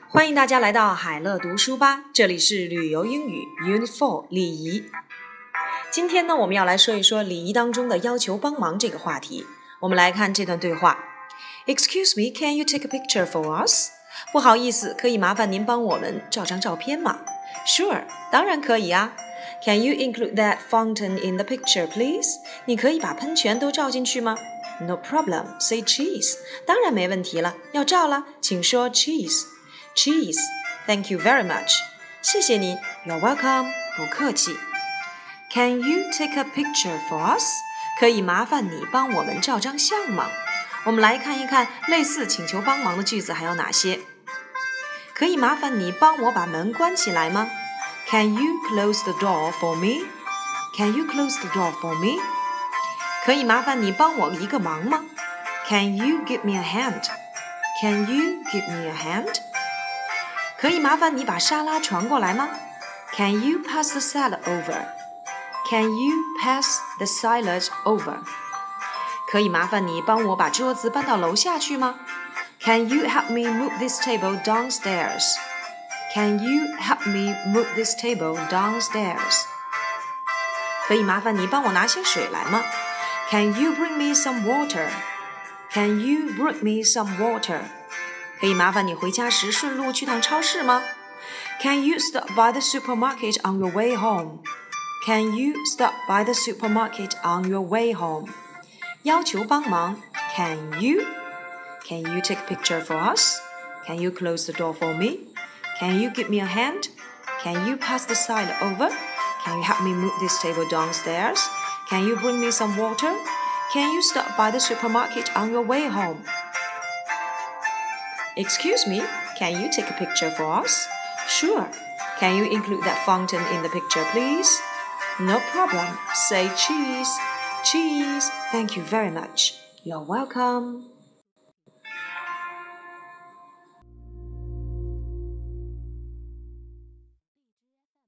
欢迎大家来到海乐读书吧，这里是旅游英语 Unit 4礼仪。今天呢，我们要来说一说礼仪当中的要求帮忙这个话题。我们来看这段对话。Excuse me, can you take a picture for us? 不好意思，可以麻烦您帮我们照张照片吗？ Sure, 当然可以啊。Can you include that fountain in the picture, please? 你可以把喷泉都照进去吗？ No problem, say cheese. 当然没问题了，要照了，请说 cheese.Cheese, thank you very much. 谢谢你 You're welcome. 不客气。Can you take a picture for us? 可以麻烦你帮我们照张相吗？我们来看一看类似请求帮忙的句子还有哪些。可以麻烦你帮我把门关起来吗？ Can you close the door for me? Can you close the door for me? 可以麻烦你帮我一个忙吗？ Can you give me a hand? Can you give me a hand?可以麻烦你把沙拉传过来吗？ Can you pass the salad over? Can you pass the salad over? 可以麻烦你帮我把桌子搬到楼下去吗？ Can you help me move this table downstairs? Can you help me move this table downstairs? 可以麻烦你帮我拿些水来吗？ Can you bring me some water? Can you bring me some water?可以麻烦你回家时顺路去趟超市吗？ Can you stop by the supermarket on your way home? Can you stop by the supermarket on your way home? 要求帮忙 Can you? Can you take a picture for us? Can you close the door for me? Can you give me a hand? Can you pass the salad over? Can you help me move this table downstairs? Can you bring me some water? Can you stop by the supermarket on your way home?Excuse me, can you take a picture for us? Sure. Can you include that fountain in the picture, please? No problem. Say cheese. Cheese. Thank you very much. You're welcome.